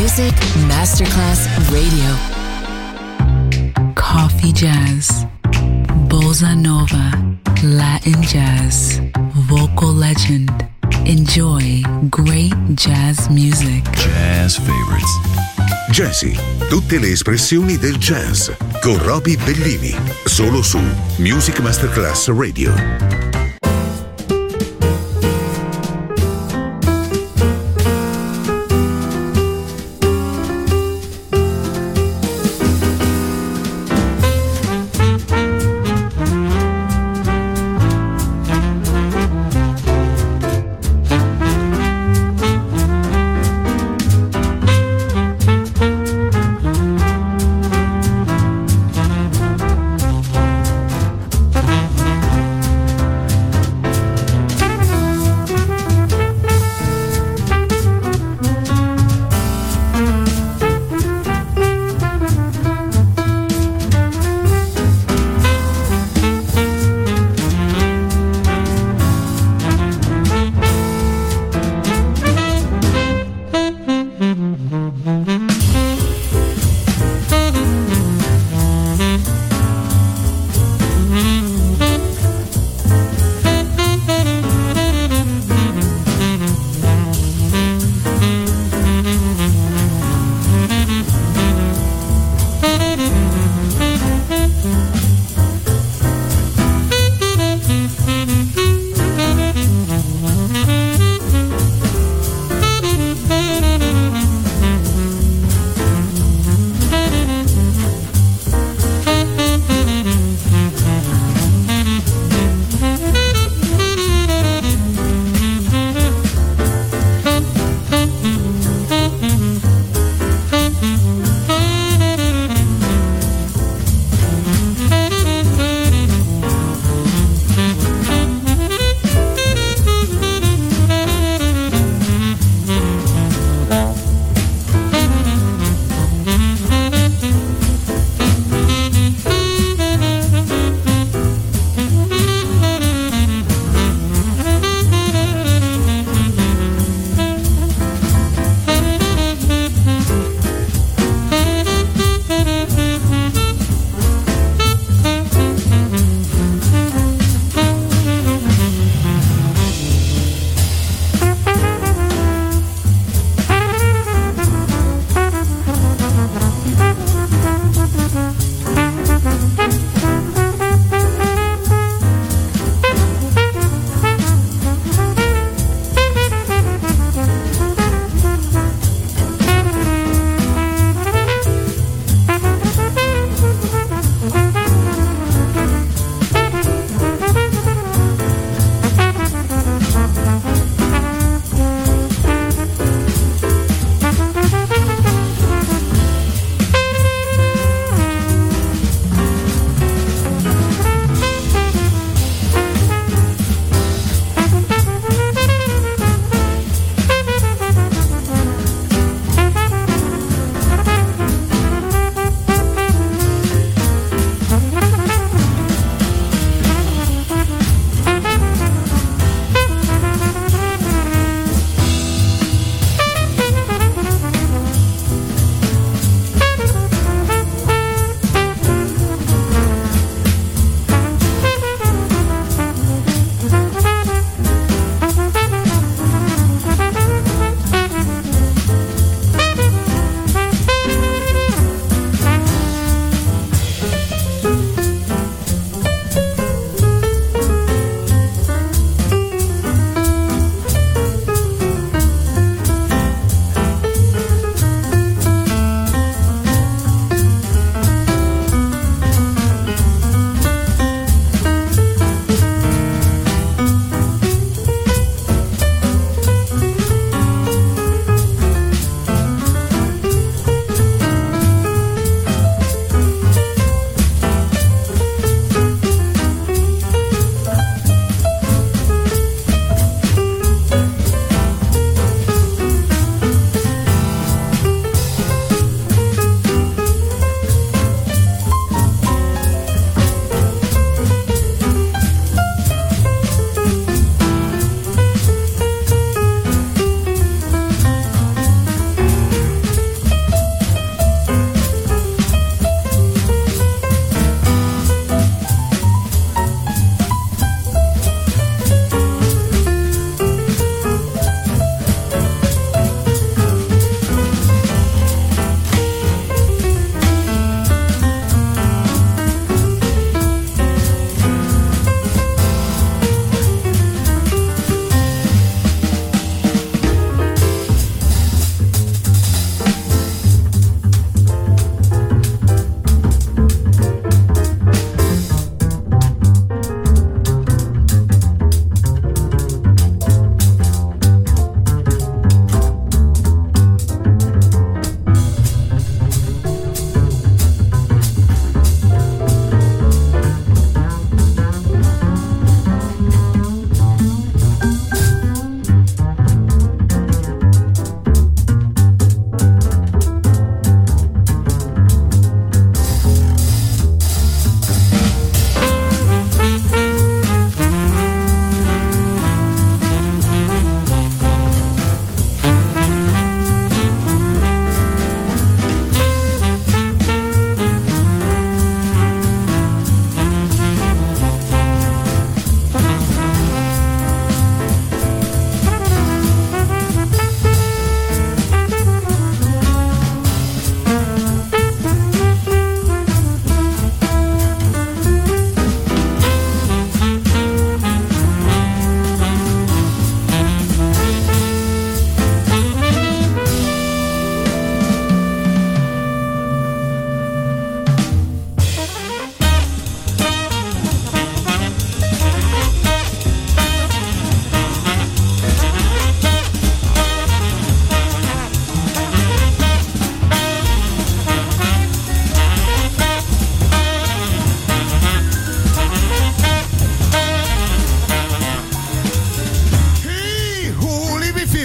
Music Masterclass Radio. Coffee jazz, bossa nova, Latin jazz, vocal legend. Enjoy great jazz music. Jazz favorites. Jazzy, tutte le espressioni del jazz con Roby Bellini, solo su Music Masterclass Radio.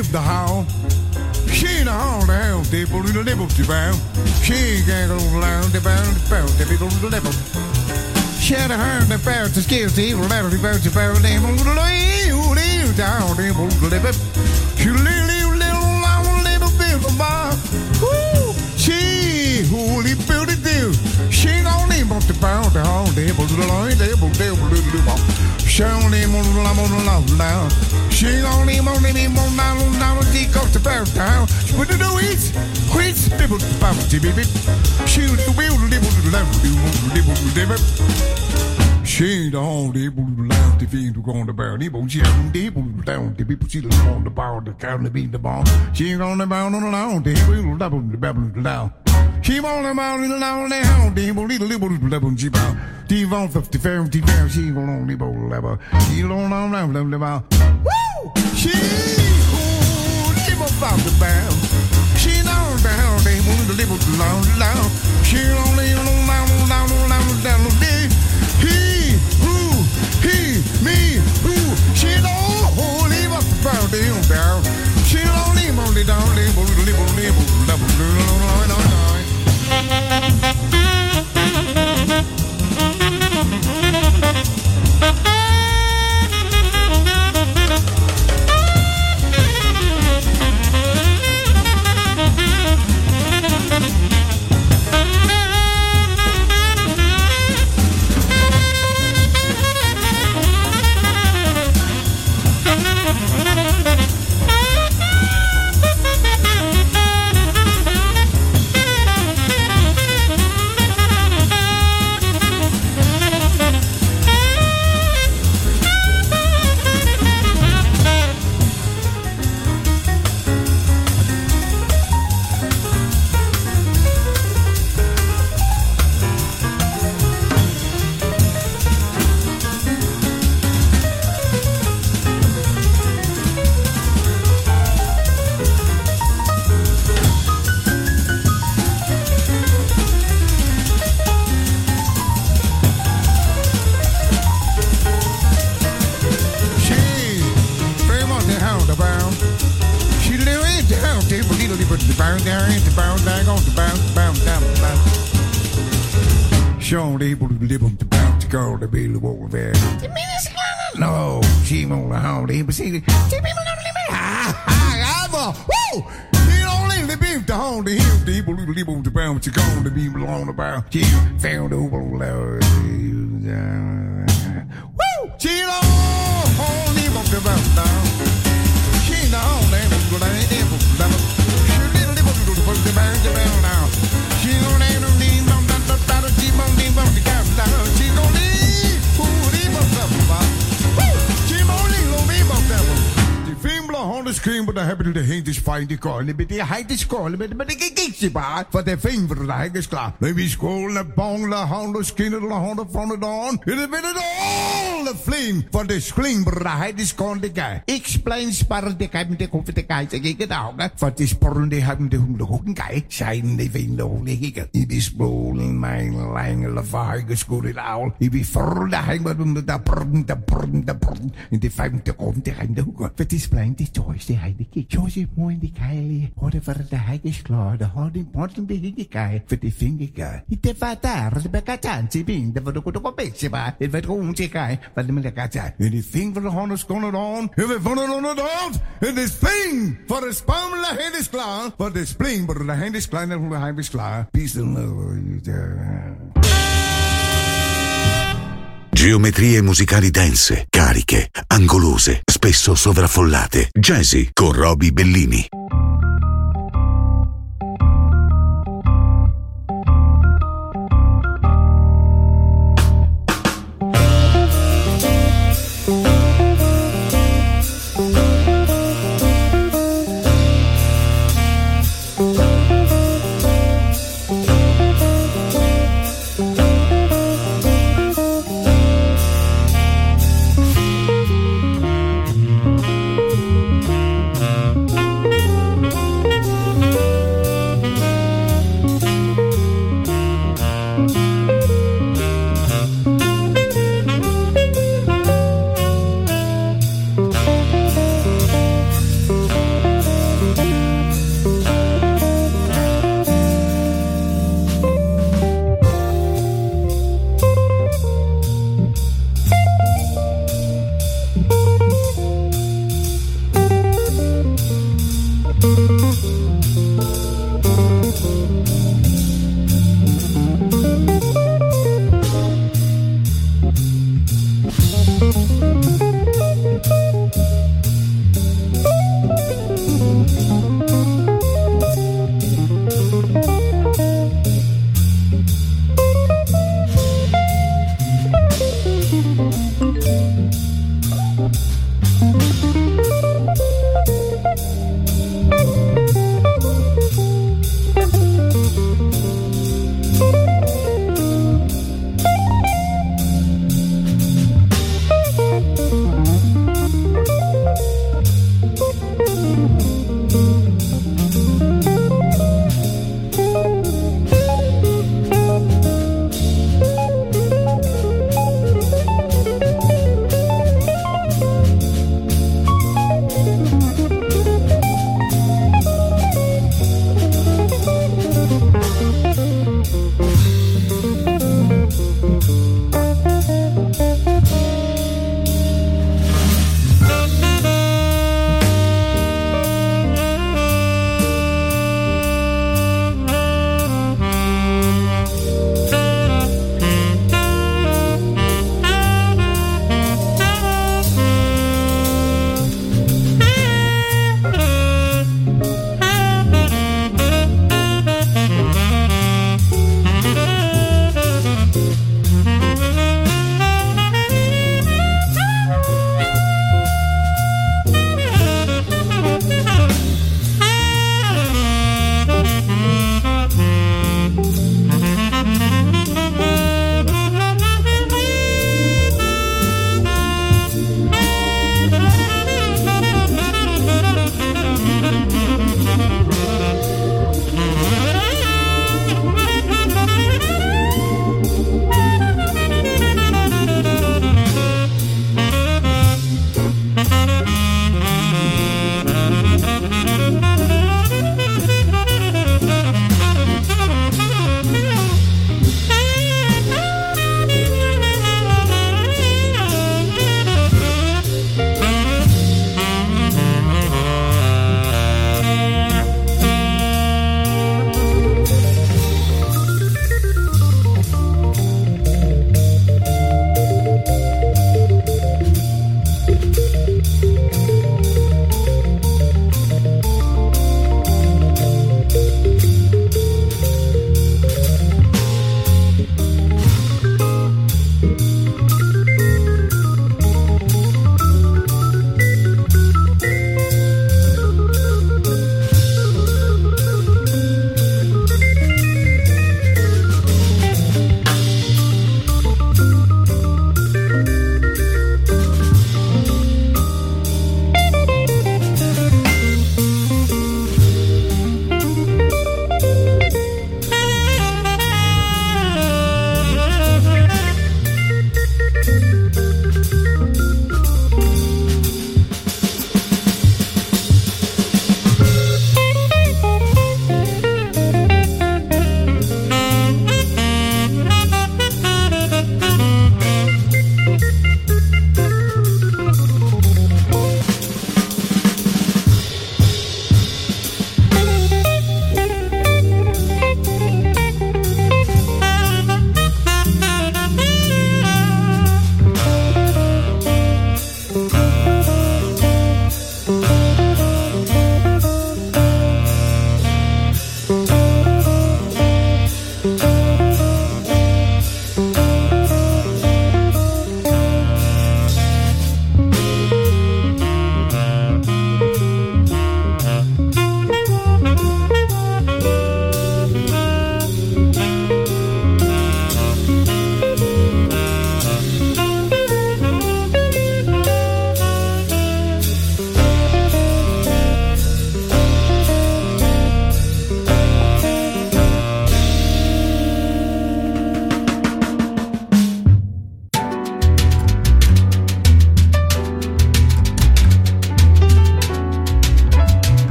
leave the house. She ain't a home to hell, they put the level to bound. She can't go around the bound, they be the level. She had a hand that bound to scale the evil level, the bound to bound, they won't leave down, they won't live it. She little little bit of bar. She holy built it do. She don't need much to bound the home, they put the line, they put the little. She only want to love now. She only want to be more now. She goes to bow down. She put the weeds, quits, people to bow to be. She was the wheel, live. She ain't the home, they put the loud, the fiend to go on the barrel. They put the down, the people see the on the bar, the cow, the beat the ball. She ain't on the bound on the loud, they will double the babble down. She won't about in the loud, they hound, they will little she bound. T-Von 50 fair, she will only bowl level. She don't know, woo! She live about the bound. She knows the hell they want to live loud. She only down. He, me, who? She don't live up about down. She only down, No, she won't hold but see, woo! He only the beef to hold the hill, the people to bound to go to be along about. She found over loud. Woo! She don't hold him up the bound down. She don't let him go down. She didn't put the bound now. She don't let him leave on the she won't leave on the cap down. She don't leave. Who leave up the bound? De scream, but I heb de heen is fijn die kolen, met die heid is kolen, met de kikje baar, voor de vinger de hek is klaar. Nu wie school, de bong, de handen, skinner, de handen van de dawn. Het is met het all the flame, voor de scream, but de heid is kolen, de guy. Ik splein sparren, de kijk met de koffer, de kijk, zeg ik het ook, voor de sporren, die hebben de hoende hoeken, kijk. Zijn de vinden, hoor, leg ik het. Ik ben spoelen, mijn lange, lavaai, geschoren, oul. Ik ben voor de hek, maar doen de brrrn. In de vijfde komt, de hek de hoeken. Het is plein, die choice. De heide kijk, zo zit mooi in die keilie. Hoorde voor de hek is klaar, de hoorde in porten begin die kei. Voor de vinger kei. Het is wat daar, de bekatantje bin, de wordt ook een beetje bij. Het werd gewoon te kei, wat de melekatje. En die vinger van de handen is kon het aan. En we vonden het aan het hand. En de spring, voor de spam, de hand is klaar. Voor de spring, voor de hand is klein en de hand is klaar. Peace and love. Geometrie musicali dense, cariche, angolose, spesso sovraffollate. Jazzy con Roby Bellini.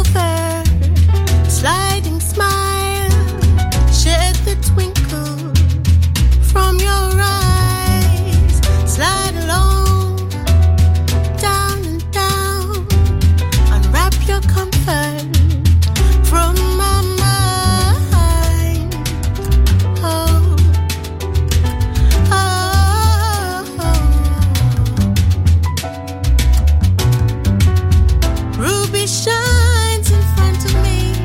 over, sliding smile, shed the twinkle from your eyes, slide along, down and down, unwrap your comfort from my mind. Oh, oh, oh. Ruby shines in front of me,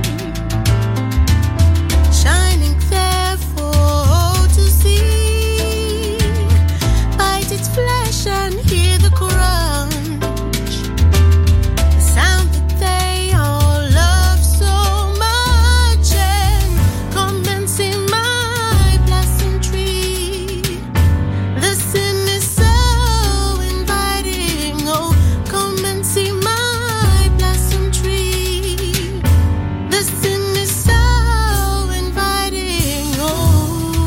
shining there for all to see. Bite its flesh and hear the crunch, the sound that they all love so much. And come and see my blossom tree. The sin is so inviting. Oh, come and see my blossom tree. The sin is so inviting. Oh,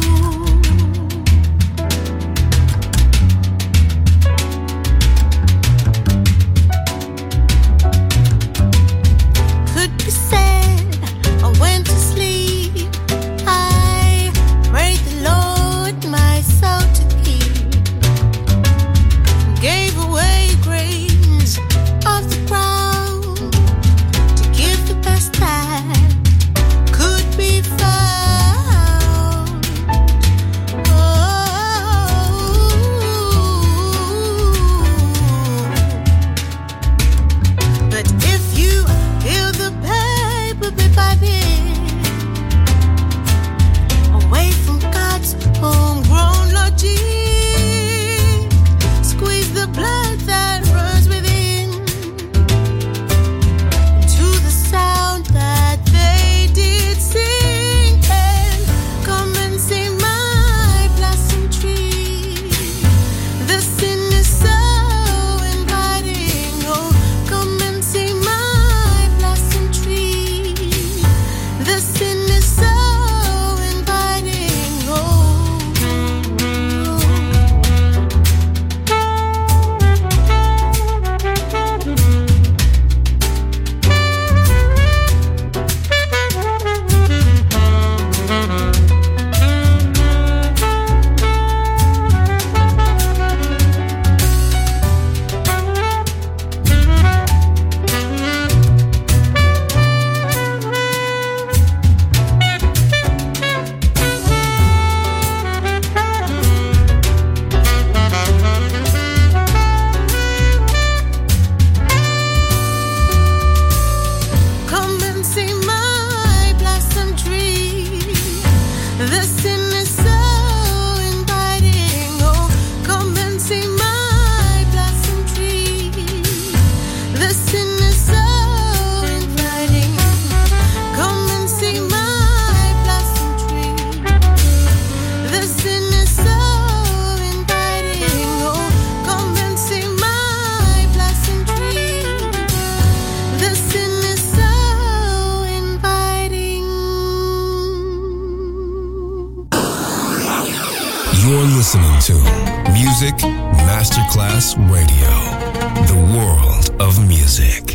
could be said I went to sleep. I prayed the Lord my soul to keep, gave away grains of the ground to give the best that could be found. Oh, but if you feel the paper bit by bit, away from God's homegrown logic, squeeze the blood that runs within to the sound that they did sing. And come and see my blossom tree. The sin is so inviting. Oh, come and see my blossom tree. The sin is so inviting. Oh, come and see my blossom tree. The sin is so inviting. Oh, come and see my blossom tree. The sin is so inviting. Come and see my blossom tree. The sin is so inviting. Oh, come and see my blossom tree. The sin is so inviting. You're listening to Music Masterclass Radio, the world of music.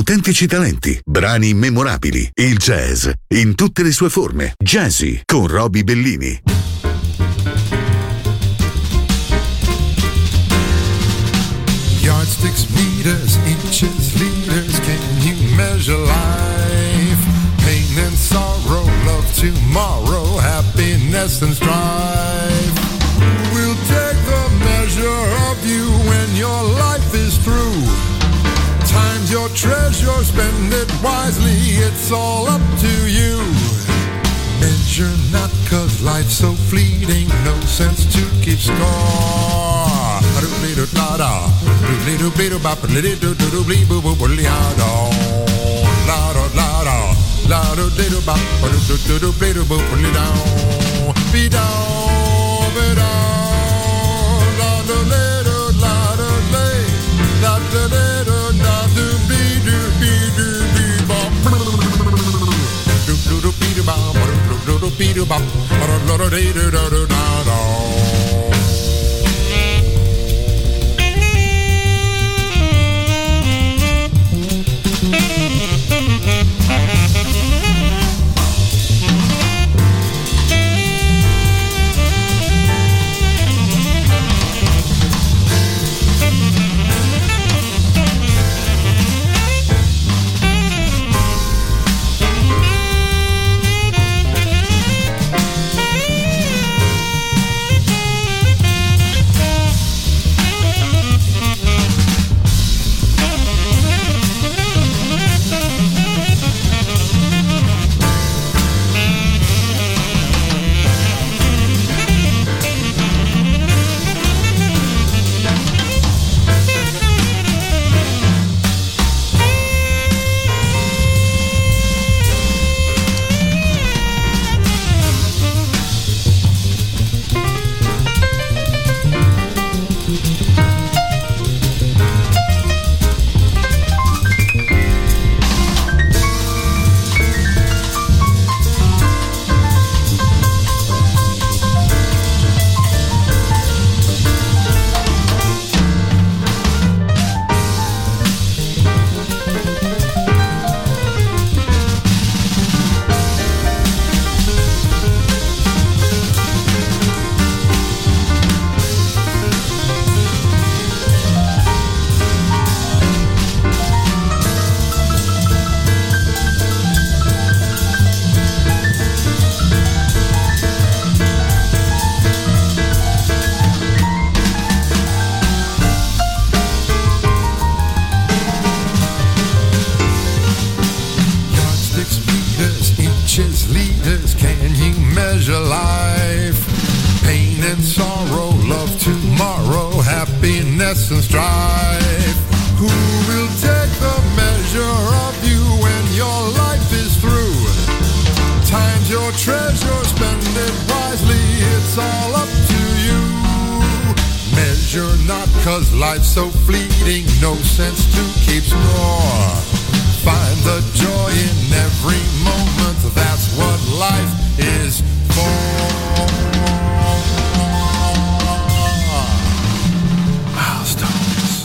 autentici talenti, brani memorabili, il jazz in tutte le sue forme. Jazzy con Roby Bellini. Yardsticks, meters, inches, liters, can you measure life? Pain and sorrow, love tomorrow, happiness and strife. We'll take the measure of you when your life is through. Time's your treasure, spend it wisely, it's all up to you. Measure not, 'cause life's so fleeting, no sense to keep score. happiness and strife. Who will take the measure of you when your life is through? Time's your treasure, spend it wisely, it's all up to you. Measure not, 'cause life's so fleeting, no sense to keep score. Find the joy in every moment, that's what life is for. Milestones.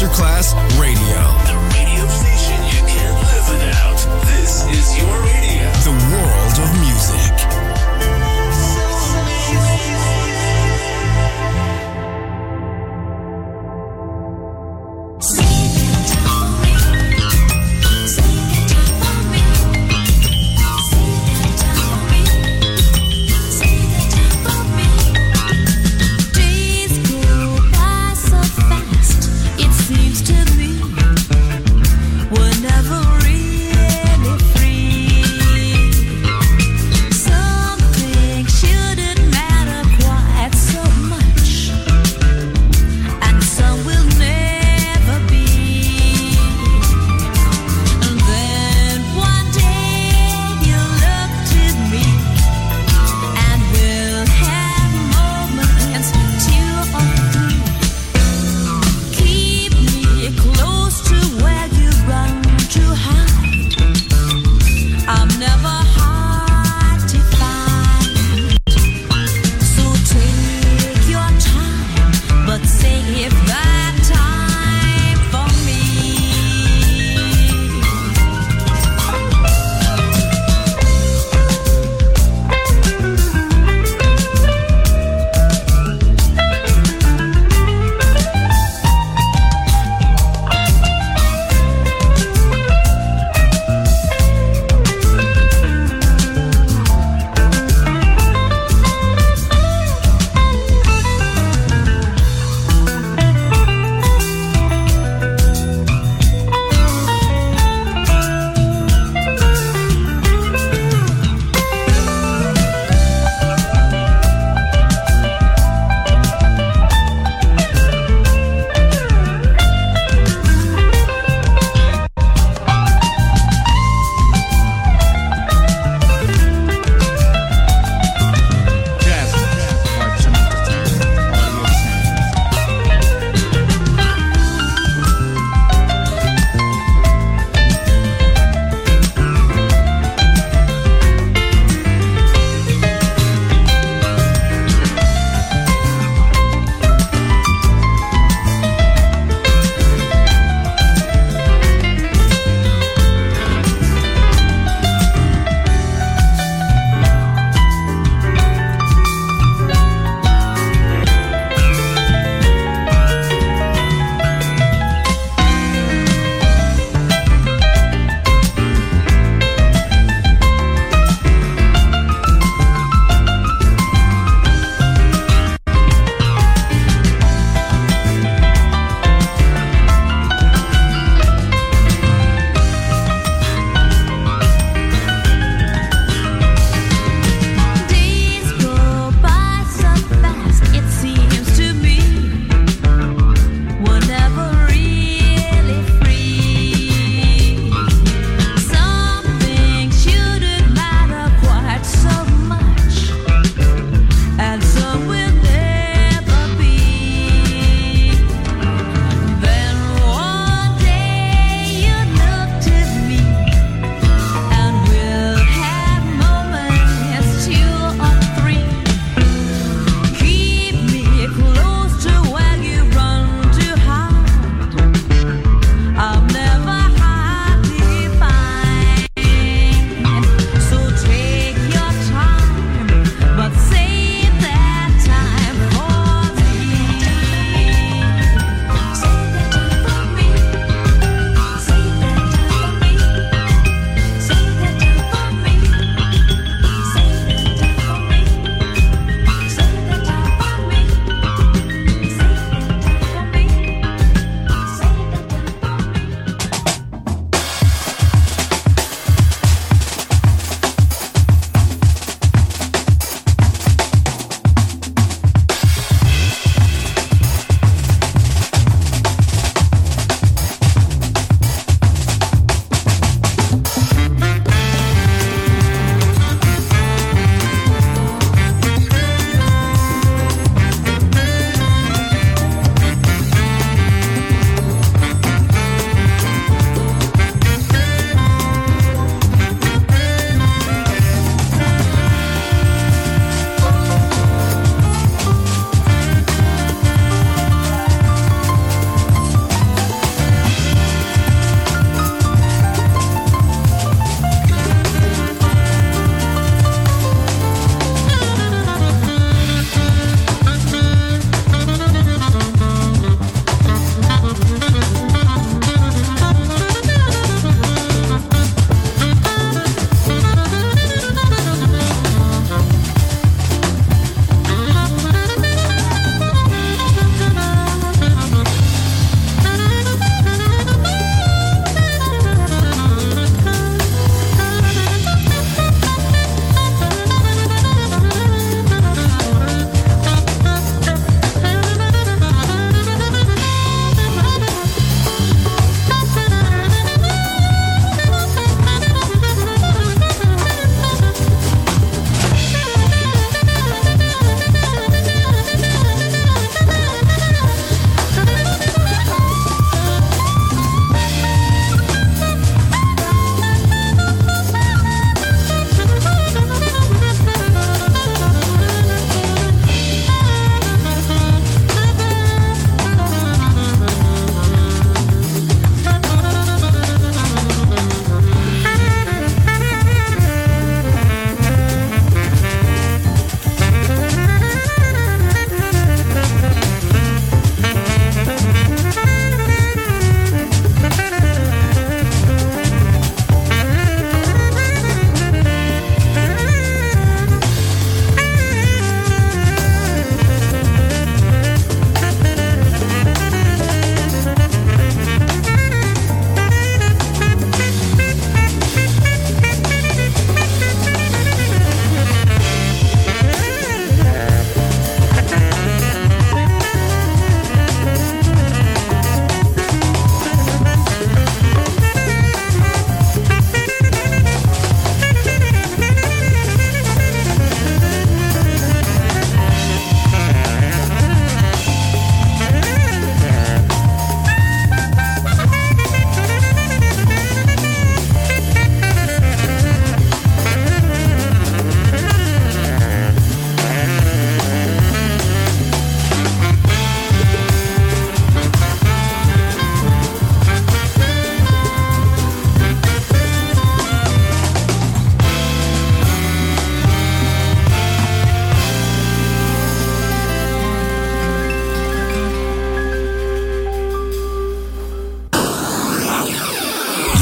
Masterclass Radio. The radio station you can't live without. This is your radio. The world of music. Never really free. So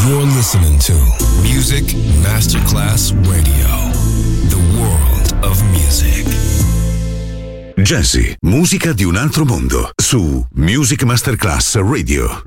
You're listening to Music Masterclass Radio. The world of music. Jazzy, musica di un altro mondo, su Music Masterclass Radio.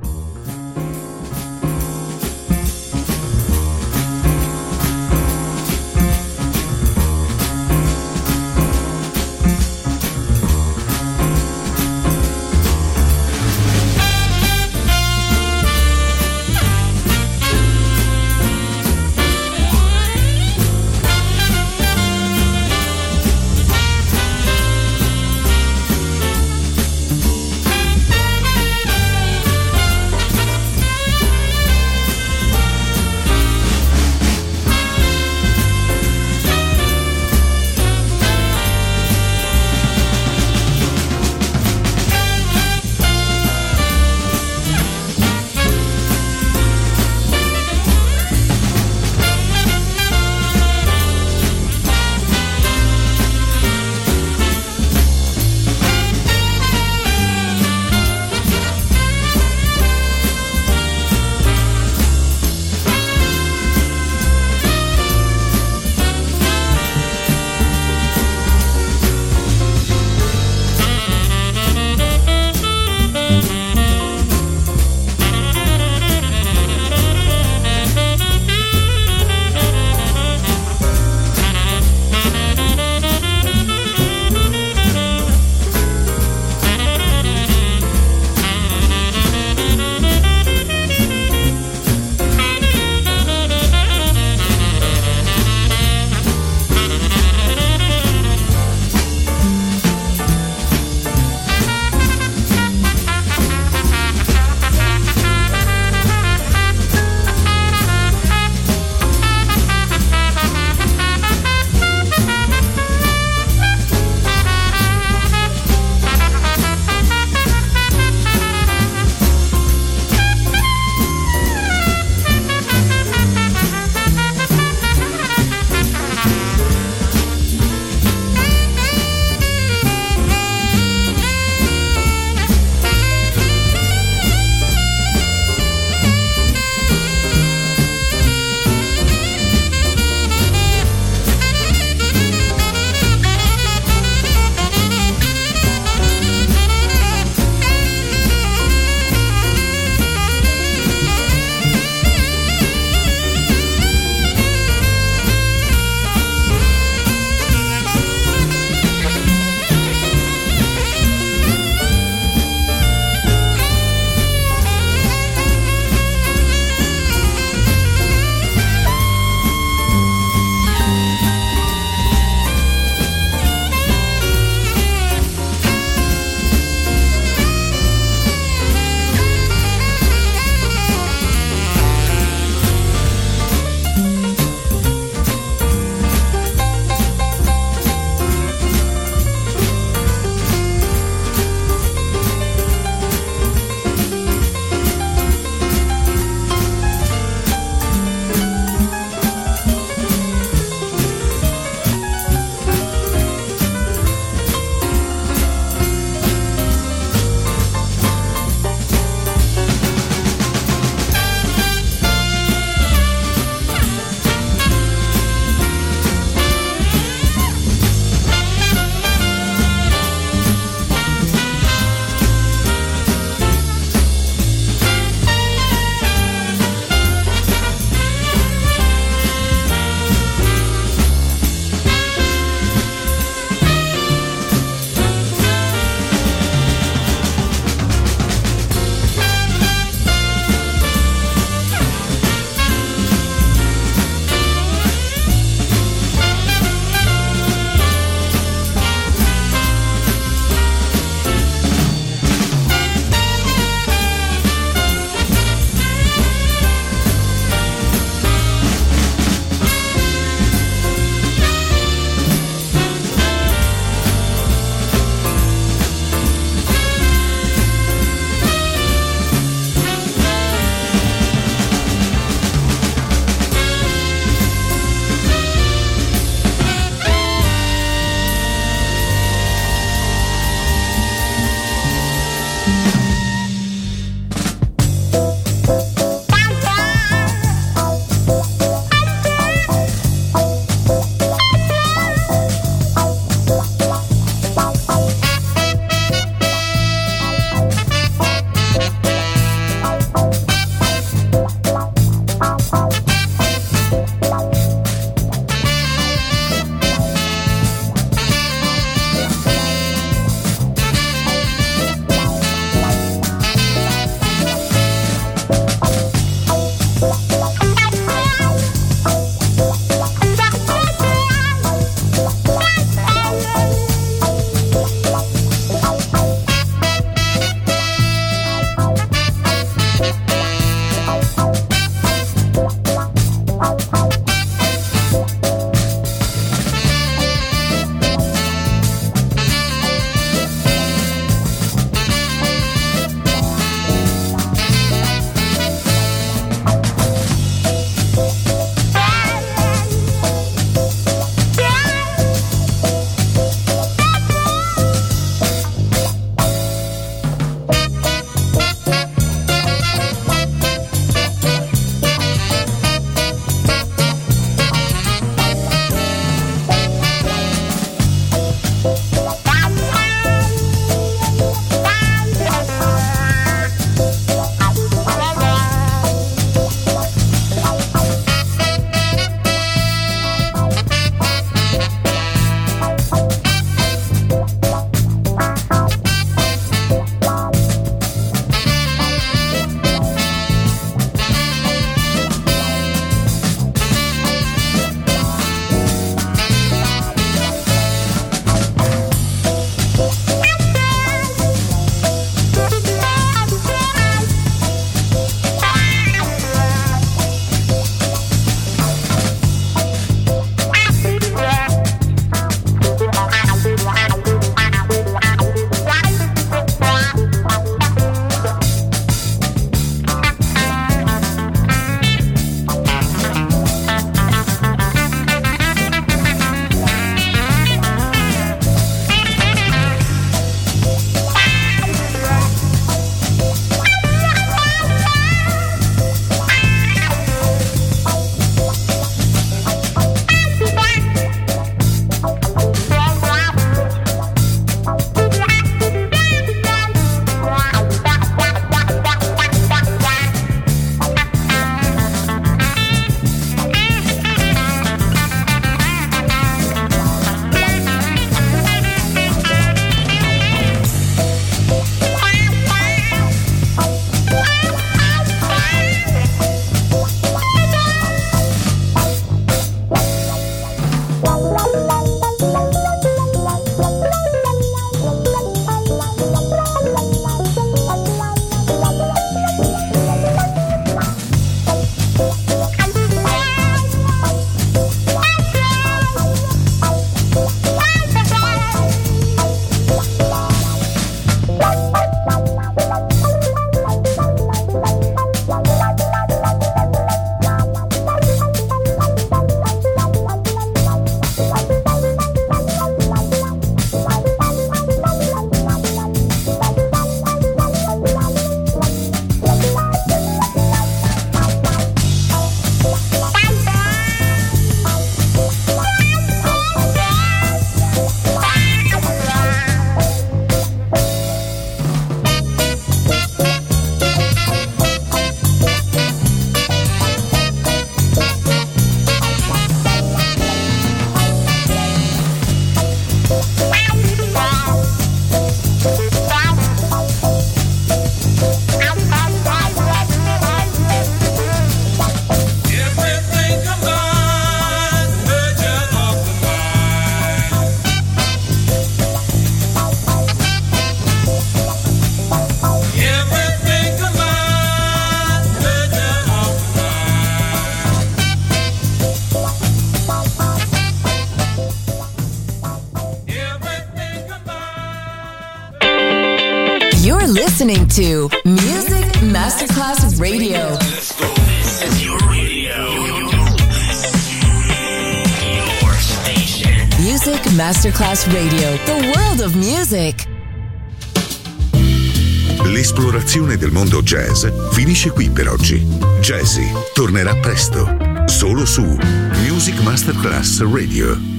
You're listening to Music Masterclass Radio. Let's go. This is your radio. Your station. Music Masterclass Radio. The world of music. L'esplorazione del mondo jazz finisce qui per oggi. Jazzy tornerà presto, solo su Music Masterclass Radio.